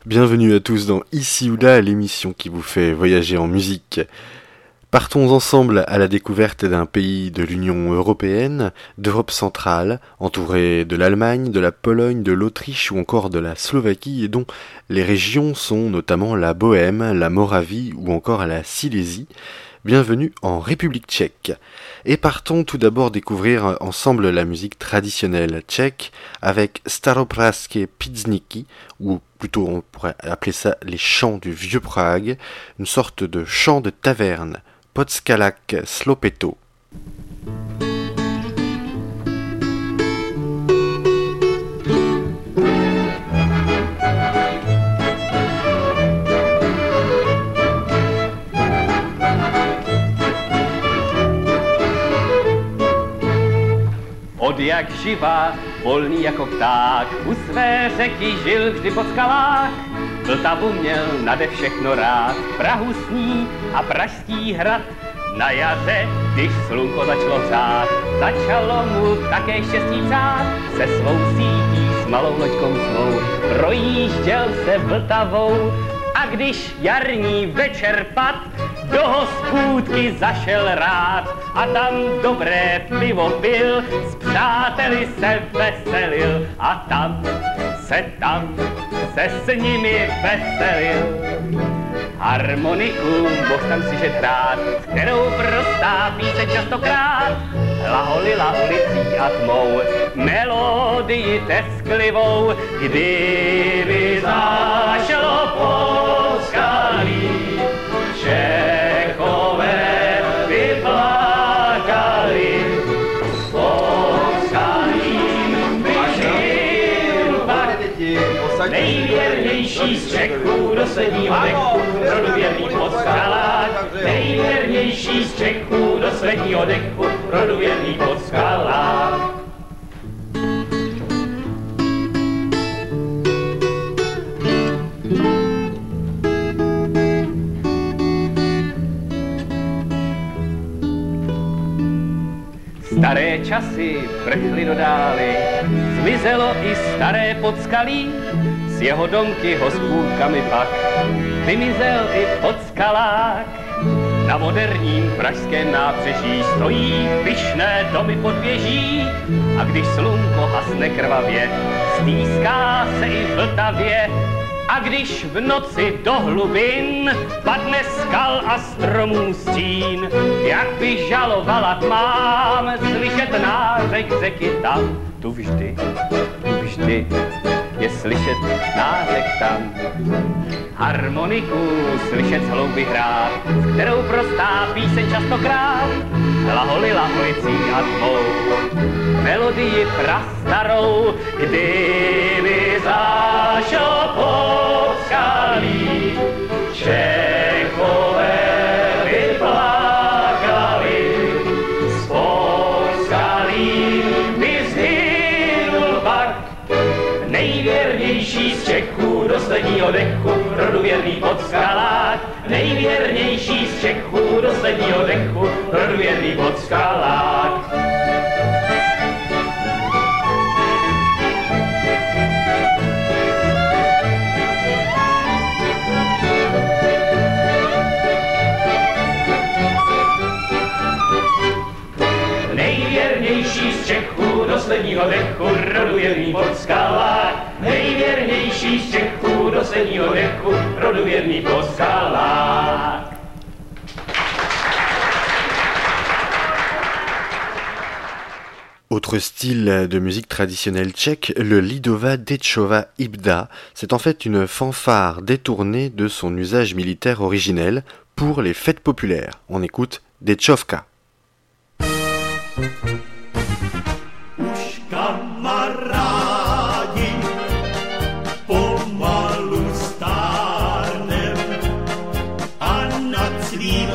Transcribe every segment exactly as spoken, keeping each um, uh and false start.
Bienvenue à tous dans Ici ou Là, l'émission qui vous fait voyager en musique. Partons ensemble à la découverte d'un pays de l'Union européenne, d'Europe centrale, entouré de l'Allemagne, de la Pologne, de l'Autriche ou encore de la Slovaquie, et dont les régions sont notamment la Bohême, la Moravie ou encore la Silésie. Bienvenue en République tchèque. Et partons tout d'abord découvrir ensemble la musique traditionnelle tchèque avec Staropražské písničky, ou plutôt on pourrait appeler ça les chants du vieux Prague, une sorte de chant de taverne, Podskalák slopeto. Od jak živa, volný jako pták, u své řeky žil vždy Podskalák. Vltavu měl nade všechno rád, Prahu sní a Pražský hrad. Na jaře, když slunko začalo hřát, začalo mu také štěstí přát. Se svou sítí s malou loďkou svou projížděl se Vltavou. A když jarní večer pad, do hospůdky zašel rád a tam dobré pivo pil, s přáteli se veselil a tam se tam se s nimi veselil. Harmoniku mohl tam si žet hrát, s kterou prostá píseň častokrát hlaholila ulicí a tmou melodii tesklivou. Kdyby zašlo Podskalí, Čechové vyplakali, s Podskalím by žil pak nejvěrnější z Čechů do sledního dechu, rodověrný Podskalák. Nejvěrnější z Čechů do sledního dechu, rodověrný Podskalák. Staré časy prchly do dály, zmizelo i staré Podskalí, s jeho domky hospůdkami pak vymizel i Podskalák. Na moderním pražském nábřeží stojí pyšné domy pod věží a když slunko hasne krvavě, stýská se i v Vltavě. A když v noci do hlubin padne skal a stromů stín, jak by žalovala tmám, slyšet nářek řeky tam, tu vždy, tu vždy je slyšet nářek tam. Harmoniku slyšet z hlouby hrát, s kterou prostá píseň častokrát hlaholila ulicí a tmou melodii prastarou. Kdyby zašlo Podskalí, Čechové vyplakali, s Podskalím by zhynul pak nejvěrnější z Čechů do sledního dechu, rodověrný Podskalák. Nejvěrnější z Čechů do sledního dechu, rodověrný Podskalák. Nejvěrnější z Čechů do sledního dechu, rodověrný Podskalák. Nejvěrnější z Čechů do sledního dechu, rodověrný Podskalák. Autre style de musique traditionnelle tchèque, le Lidová dečová hybda. C'est en fait une fanfare détournée de son usage militaire originel pour les fêtes populaires. On écoute Dečovka. Už kamarádi pomalu stárnem a nad svým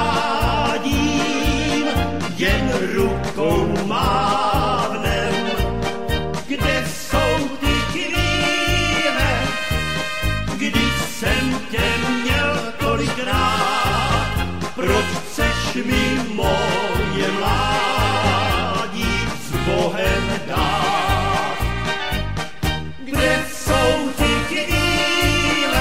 mládím jen rukou mávnem. Kde jsou ty chvíle, když jsem tě měl tolikrát? Proč chceš mi moje mládí s Bohem dát? Kde jsou ty chvíle,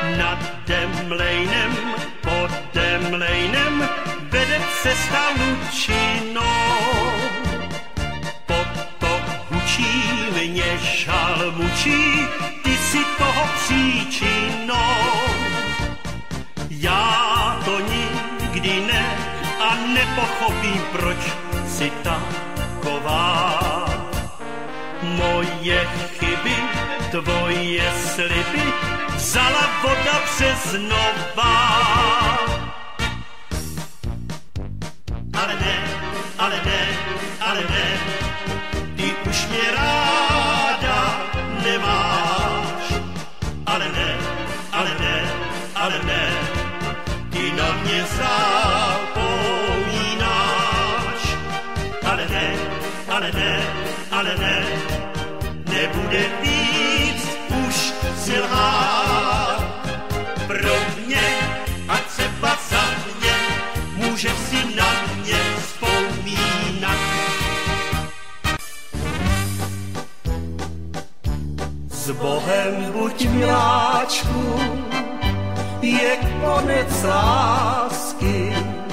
Nad Demlejnem, pod Demlejnem vede cesta lučinou. Potok hučí, mě žal mučí, ty si toho příčinou. Já to nikdy ne a nepochopím, proč si taková. Moje chyby, tvoje sliby vzala voda březnová. Ale ne, ale ne, ale ne, ty už mě ráda nemáš. Ale ne, ale ne, ale ne, ty na mě zapomínáš. Ale ne, ale ne, ale ne, nebude víc už si lhát. Pro mě a třeba za mě můžeš si na mě vzpomínat. S Bohem buď miláčku, je konec lásky.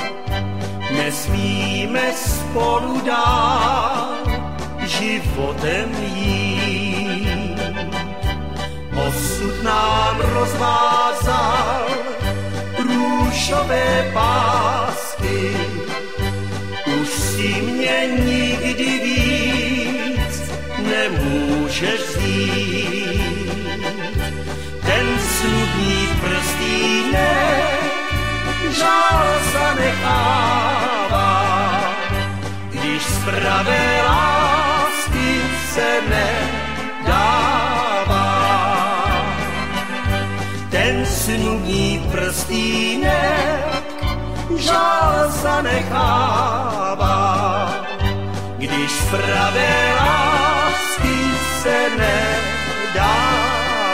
Nesmíme spolu dál životem jít. Osud nám rozvázal růžové pásky. Už si mě nikdy víc nemůžeš vzít. Ten snubní prstínek žál zanechává, když z pravé lásky se nedává. Ten snubní prstínek žál zanechává, když z pravé lásky se nedává.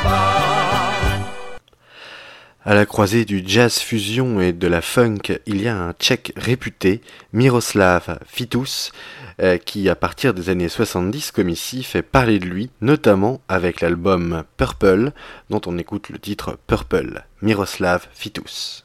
À la croisée du jazz fusion et de la funk, il y a un Tchèque réputé, Miroslav Vitous, euh, qui à partir des années soixante-dix, comme ici, fait parler de lui, notamment avec l'album Purple, dont on écoute le titre Purple, Miroslav Vitous.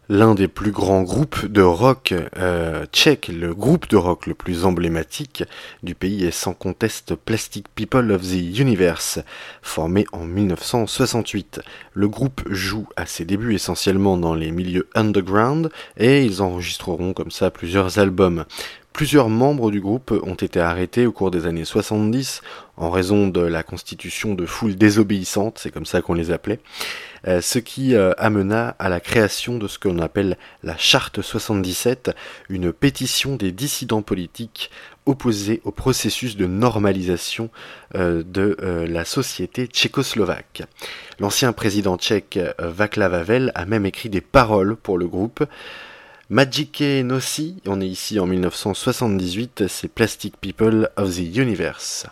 L'un des plus grands groupes de rock euh, tchèque, le groupe de rock le plus emblématique du pays est sans conteste Plastic People of the Universe, formé en dix-neuf cent soixante-huit. Le groupe joue à ses débuts essentiellement dans les milieux underground et ils enregistreront comme ça plusieurs albums. Plusieurs membres du groupe ont été arrêtés au cours des années soixante-dix en raison de la constitution de foules désobéissantes, c'est comme ça qu'on les appelait, euh, ce qui euh, amena à la création de ce qu'on appelle la Charte soixante-dix-sept, une pétition des dissidents politiques opposés au processus de normalisation euh, de euh, la société tchécoslovaque. L'ancien président tchèque euh, Václav Havel a même écrit des paroles pour le groupe. Maciej Nossi, on est ici en dix-neuf cent soixante-dix-huit, c'est Plastic People of the Universe.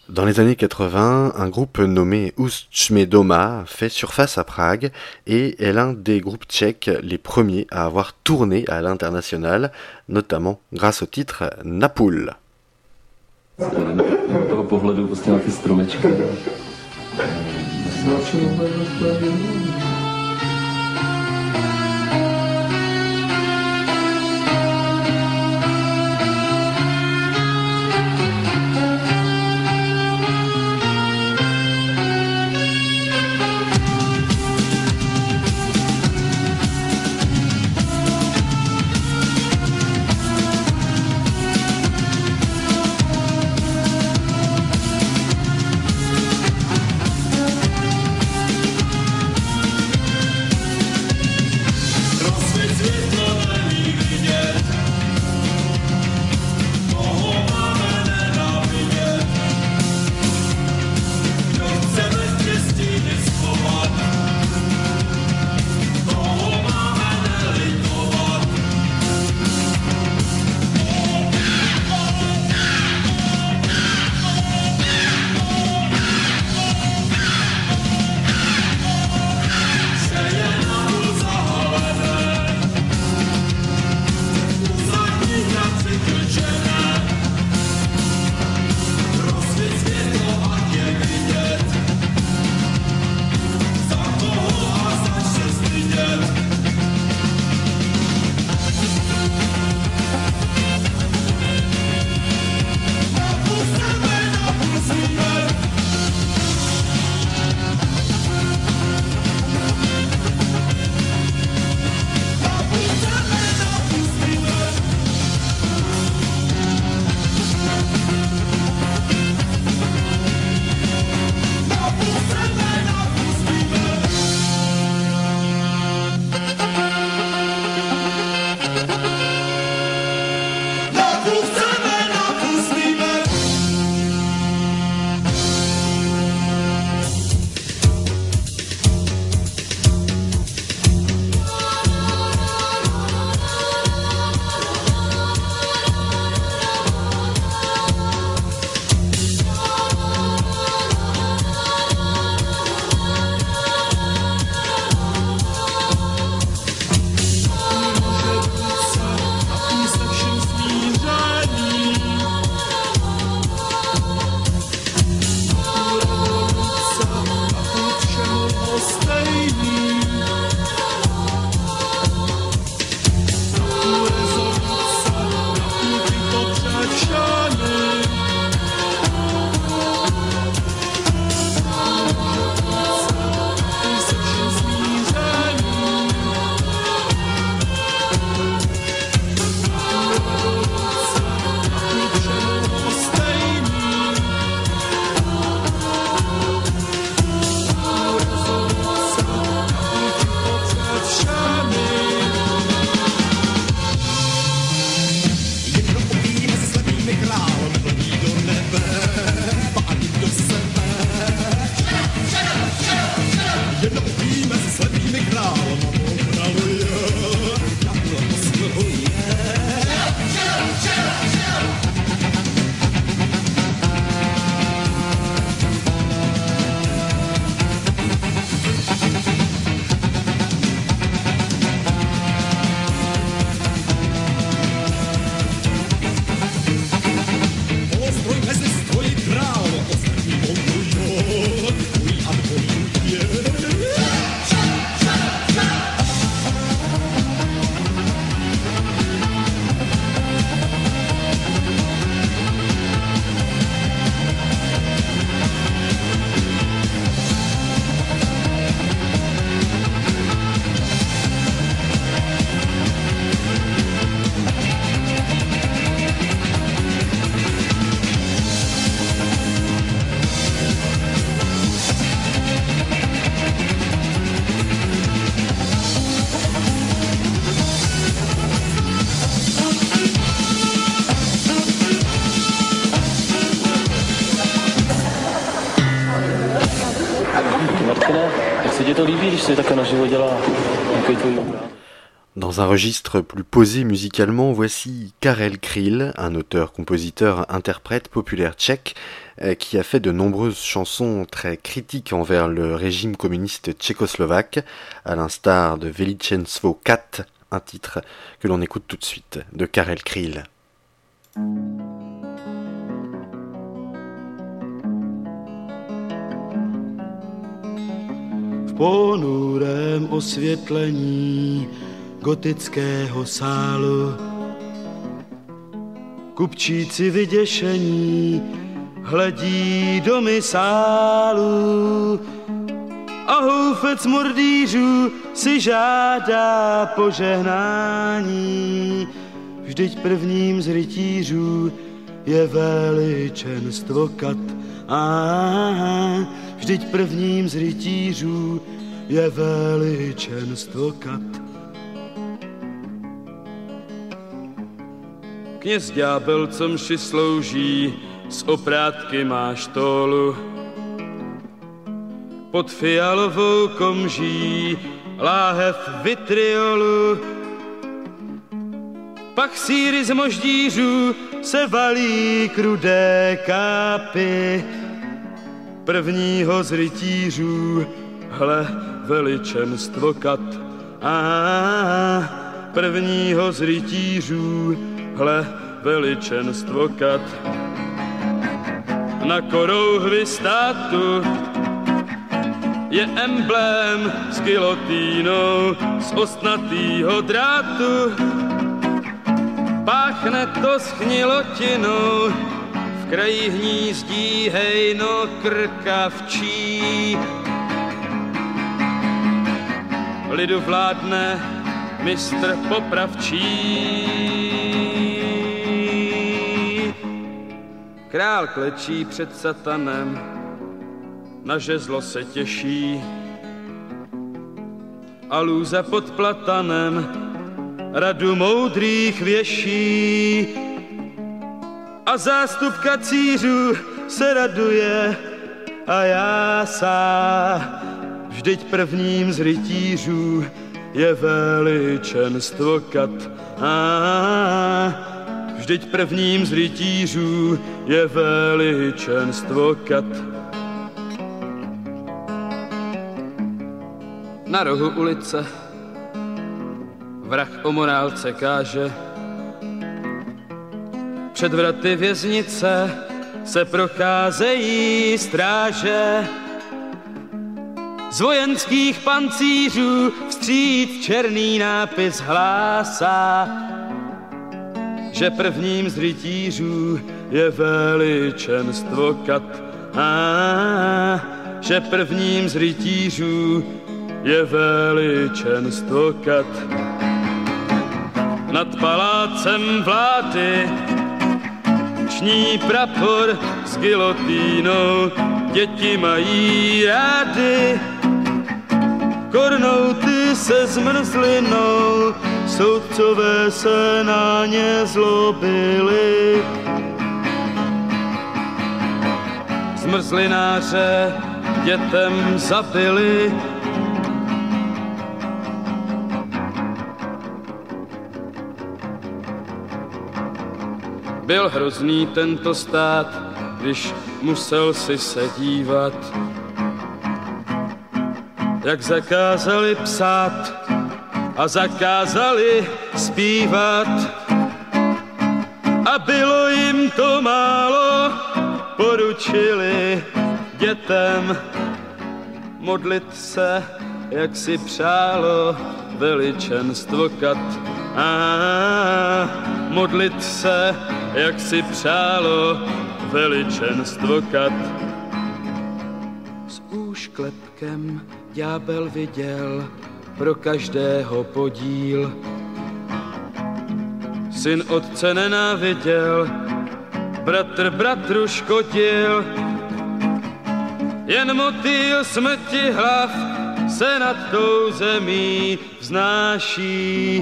Dans les années quatre-vingts, un groupe nommé Ušće doma fait surface à Prague et est l'un des groupes tchèques les premiers à avoir tourné à l'international, notamment grâce au titre Napůl. toho pohledu prostě na ty stromečky. Jak se ti to líbí, když se takhle naživo dělá nějaký tvůj obrázek? Dans un registre plus posé musicalement, voici Karel Kryl, un auteur-compositeur-interprète populaire tchèque qui a fait de nombreuses chansons très critiques envers le régime communiste tchécoslovaque, à l'instar de Veličenstvo quatre, un titre que l'on écoute tout de suite de Karel Kryl. V ponurém osvětlení gotického sálu kupčíci vyděšení hledí do misálu a houfec mordýřů si žádá požehnání. Vždyť prvním z rytířů je veličenstvo kat. A vždyť prvním z rytířů je veličenstvo kat. Kněz ďábel, co mši slouží, z oprátky má štólu. Pod fialovou komží láhev vitriolu. Pak síry z moždířů se valí k rudé kápy. Prvního z rytířů, hle, veličenstvo kat. A prvního z rytířů, hle, veličenstvo kat. Na korouhvi státu je emblém s gilotínou z ostnatýho drátu. Páchne to schnilotinou, v kraji hnízdí hejno krkavčí. Lidu vládne mistr popravčí. Král klečí před satanem, na žezlo se těší. A lůza pod platanem radu moudrých věší. A zástup kacířů se raduje a jásá. Vždyť prvním z rytířů je veličenstvo kat. A vždyť prvním z rytířů je veličenstvo kat. Na rohu ulice vrah o morálce káže. Před vraty věznice se procházejí stráže. Z vojenských pancířů vstříc černý nápis hlásá, že prvním z rytířů je veličenstvo kat. A že prvním z rytířů je veličenstvo kat. Nad palácem vlády ční prapor s gilotínou, děti mají rády. Kornouty se zmrzlinou, soudcové se na ně zlobili. Zmrzlináře dětem zabili. Byl hrozný tento stát, když musel si se dívat, jak zakázali psát a zakázali zpívat. A bylo jim to málo, poručili dětem modlit se, jak si přálo veličenstvo kat. A modlit se, jak si přálo veličenstvo kat. S úšklepkem ďábel viděl pro každého podíl. Syn otce nenáviděl, bratr bratru škodil. Jen motýl smrti hlav se nad tou zemí vznáší.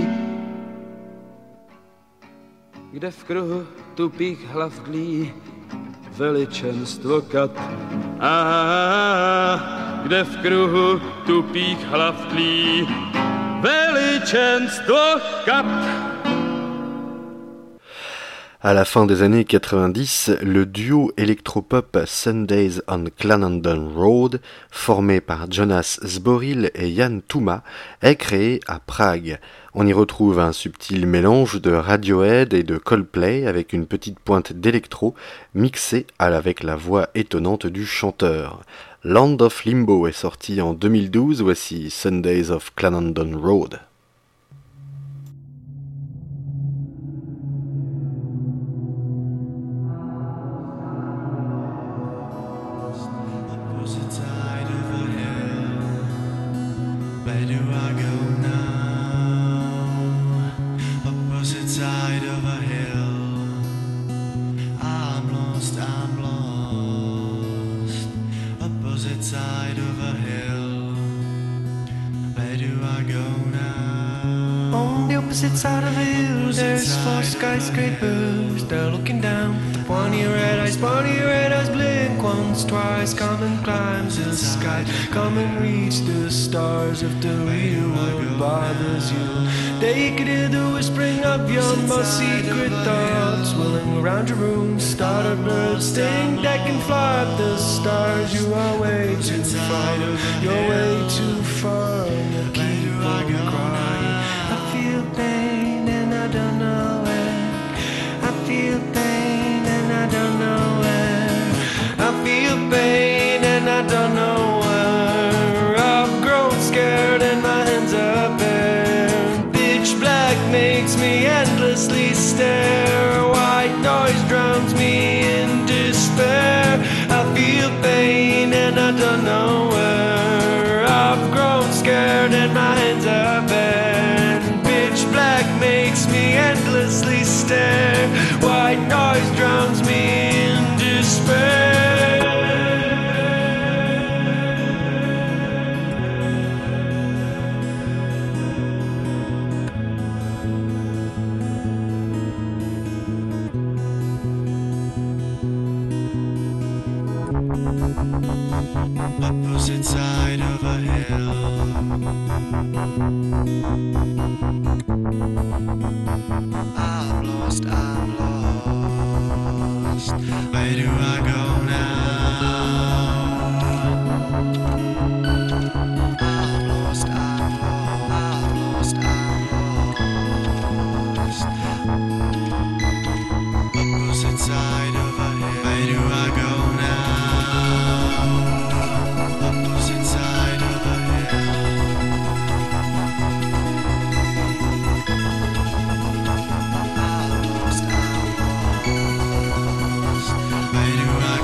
Kde v kruhu tupých hlav dlí veličenstvo kat. A kde v kruhu tupých hlav tlí veličenstvo kat. À la fin des années quatre-vingt-dix, le duo électropop Sundays on Clarendon Road, formé par Jonas Zboril et Jan Tuma, est créé à Prague. On y retrouve un subtil mélange de Radiohead et de Coldplay avec une petite pointe d'électro mixée avec la voix étonnante du chanteur. Land of Limbo est sorti en deux mille douze, voici Sundays of Clarendon Road. Skyscrapers, they're looking down with the pointy red eyes, pointy red eyes blink once, twice. Come and climb the sky, come and reach the stars. If the real world bothers you, they could hear the whispering of your most secret thoughts, whirling around your room. Start a bird, sting that can fly up the stars. You are way too far, you're way too far, and you keep on crying. I feel pain and I don't know where. I feel pain and I don't know where. I feel pain and I don't know where. I've grown scared and my hands are bare. Pitch black makes me endlessly stare. White noise drowns me in despair. I feel pain and I don't know where. I've grown scared and my hands are bare. Pitch black makes me endlessly stare. White noise drowns me in despair. Opposite side of a hill, I'm lost, I'm lost. Where do I go now? I'm lost, I'm lost, I'm lost, I'm lost. Opposite side of a hill, where do I go now? Opposite side of a hill. I'm lost, I'm lost. Where do I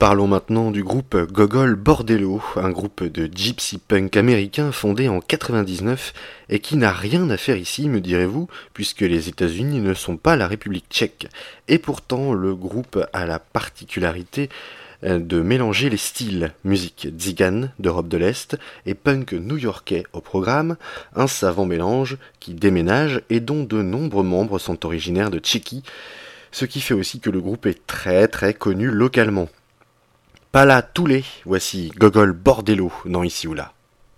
Parlons maintenant du groupe Gogol Bordello, un groupe de gypsy punk américain fondé en quatre-vingt-dix-neuf et qui n'a rien à faire ici, me direz-vous, puisque les États-Unis ne sont pas la République tchèque. Et pourtant, le groupe a la particularité de mélanger les styles, musique tzigane d'Europe de l'Est et punk new-yorkais au programme, un savant mélange qui déménage et dont de nombreux membres sont originaires de Tchéquie, ce qui fait aussi que le groupe est très très connu localement. Pas là tous les, voici Gogol Bordello dans Ici ou Là.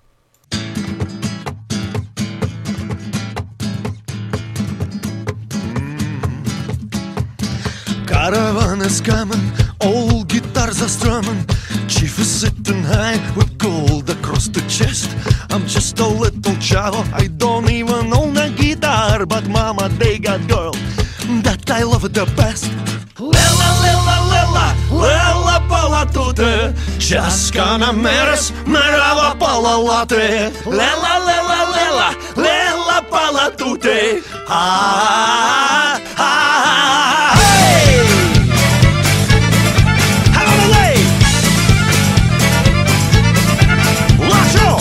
Caravan is coming, old guitars are strumming. Chief is sitting high with gold across the chest. I'm just a little chavo, I don't even own a guitar, but mama, they got girl that I love the best. Lela, lela, lela, lela pala tute, Českana meres, merava pala late. Lela, lela, lela, lela pala tute, ah, ah, ah, hey! Hallelujah! Lacho!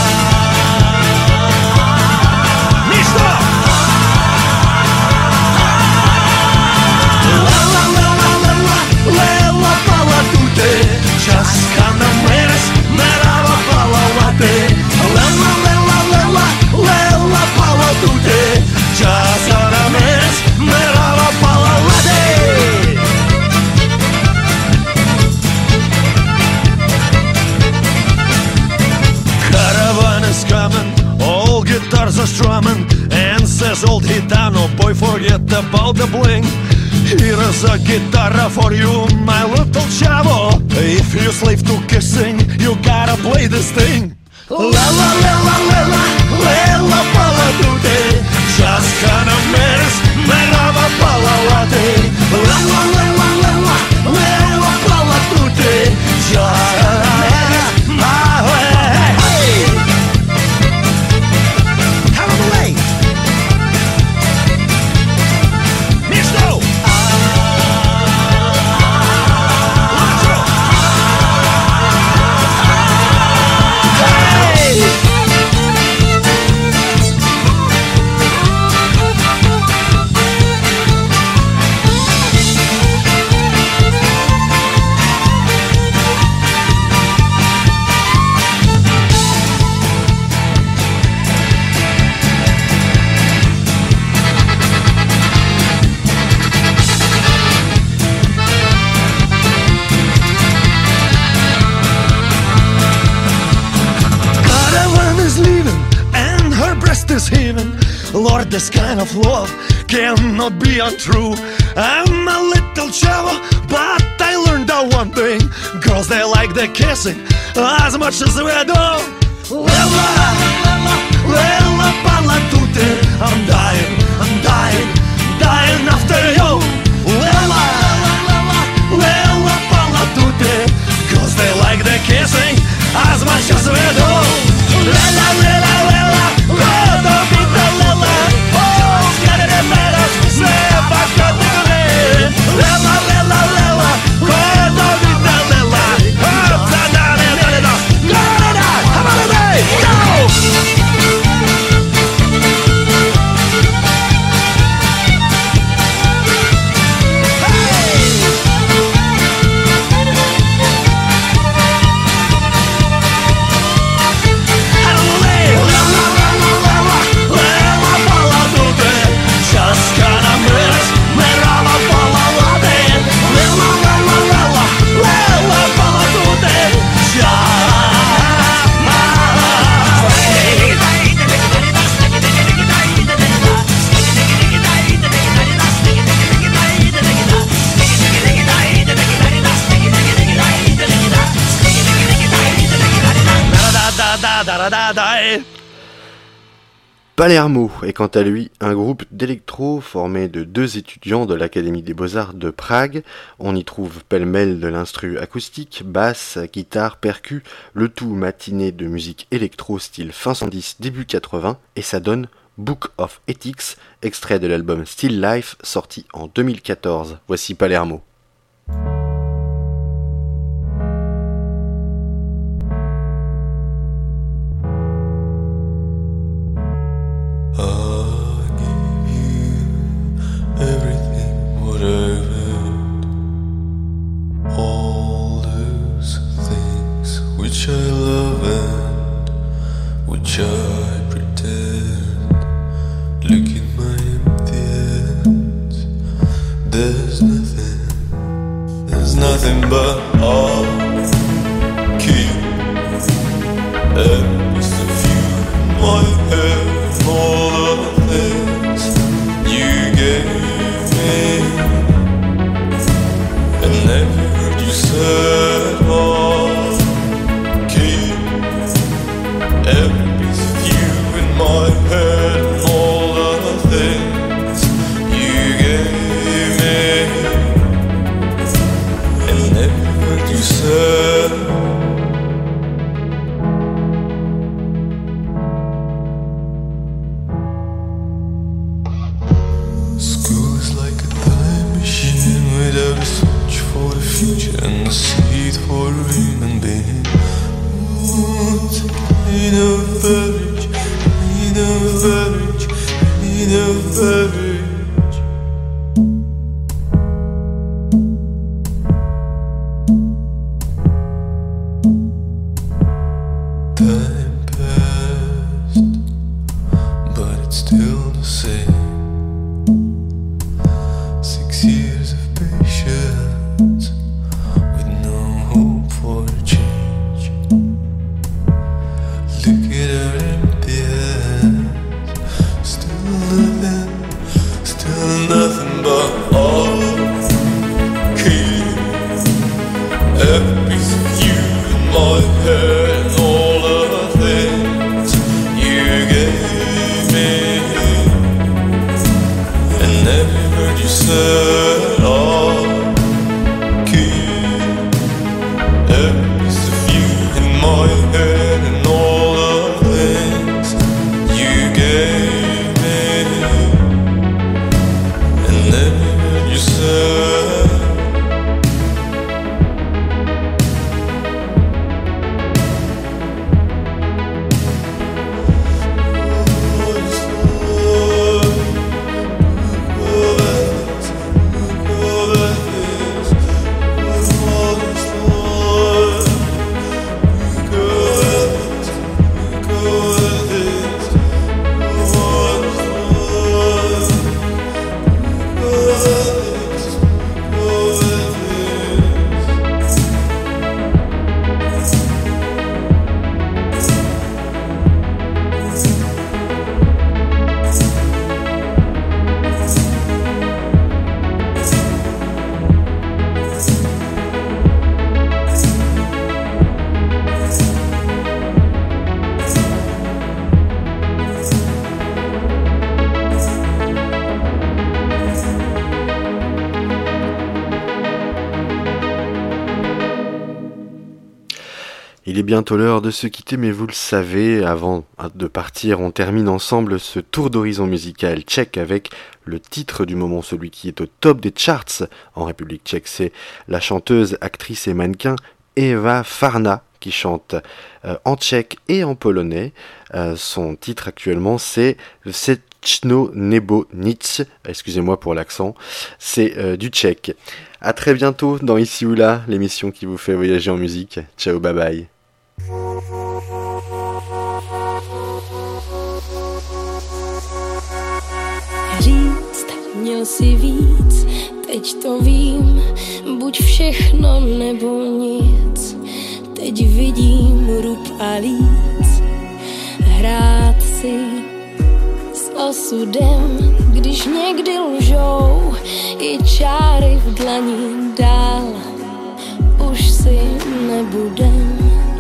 Misto! Lela pala tute, Českana meres, merava pala late. Lela, lela, lela, lela pala tute, Českana meres, merava pala late. Caravan is coming, all guitars are strumming, and says old Gitano, boy, forget about the bling. Here is a guitar for you, my little chavo. If you slave to kissing, you gotta play this thing. La la la la la la, lela pala tute, Českana meres, merava pala late. La la la la la la, lela pala tute, Českana meres, my way. Hey! Have a way. Misto! Is heaving. Lord, this kind of love cannot be untrue. I'm a little chavo, but I learned that one thing. Girls, they like the kissing as much as we do. Lela, lela, lela pala tute, I'm dying, I'm dying, dying after you. Lela, lela, lela pala tute, girls, they like the kissing as much as we do. Lela, lela, lela, lela pita lela, oh, get it matters, say back to the lela, lela, lela, lela pita lela, oh, da da da da da, da da da, come on, baby, go! Palermo est quant à lui un groupe d'électro formé de deux étudiants de l'Académie des Beaux-Arts de Prague. On y trouve pêle-mêle de l'instru acoustique, basse, guitare, percu, le tout matiné de musique électro style fin soixante-dix, début quatre-vingts, et ça donne Book of Ethics, extrait de l'album Still Life sorti en deux mille quatorze. Voici Palermo. nothing but all keep every piece of you in my head and all the things you gave me. And never heard you said all keep every piece of you in my head and all the things you gave me. And never heard you said school is like a time machine without a switch for the future and a seed for a human being. Need a beverage, need a beverage, need a beverage. Time passed, but it's still the same. Six years of patience with no hope for a change. Look at our empty hands, still nothing, still nothing but all keep every piece of you in my head and all the things you gave me. And never heard you say all keep every piece of you in my head and all the things you gave me. And never heard you say Il est bientôt l'heure de se quitter, mais vous le savez, avant de partir, on termine ensemble ce tour d'horizon musical tchèque avec le titre du moment, celui qui est au top des charts en République tchèque. C'est la chanteuse, actrice et mannequin Eva Farna qui chante euh, en tchèque et en polonais. Euh, son titre actuellement, c'est Všechno nebo nic. Excusez-moi pour l'accent, c'est euh, du tchèque. À très bientôt dans Ici ou Là, l'émission qui vous fait voyager en musique. Ciao, bye bye. Říct, měl si víc, teď to vím, buď všechno nebo nic. Teď vidím rub a líc, hrát si s osudem, když někdy lžou i čáry v dlani dál. Už si nebudem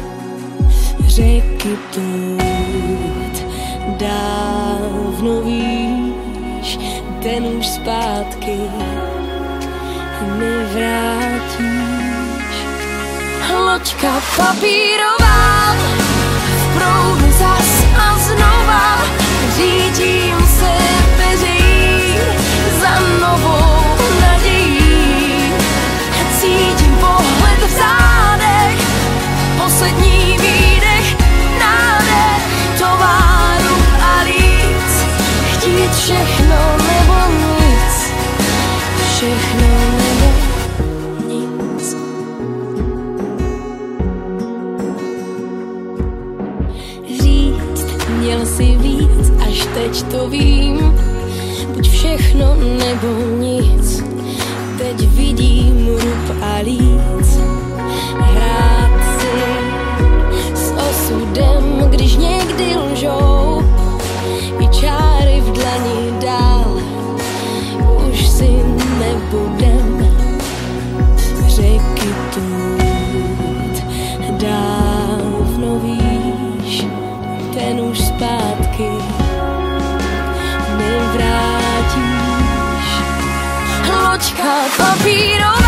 řeky plout, dávno víš, ten už zpátky nevrátíš. Loďka papírová v proudu zas a znova řídím se peří za novou nadějí. Cítím pohled v zádech, poslední výdech, nádech, továru a líc. Chtít všechno nebo nic, všechno nebo nic. Říct, měl si víc, až teď to vím, buď všechno nebo nic. teď vidím rub a líc. Hrát si s osudem, když někdy lžou, i čáry v dlani dál už si nebudem řeky tut. Dávno víš, ten už zpátky nevrátíš. Loďka papírová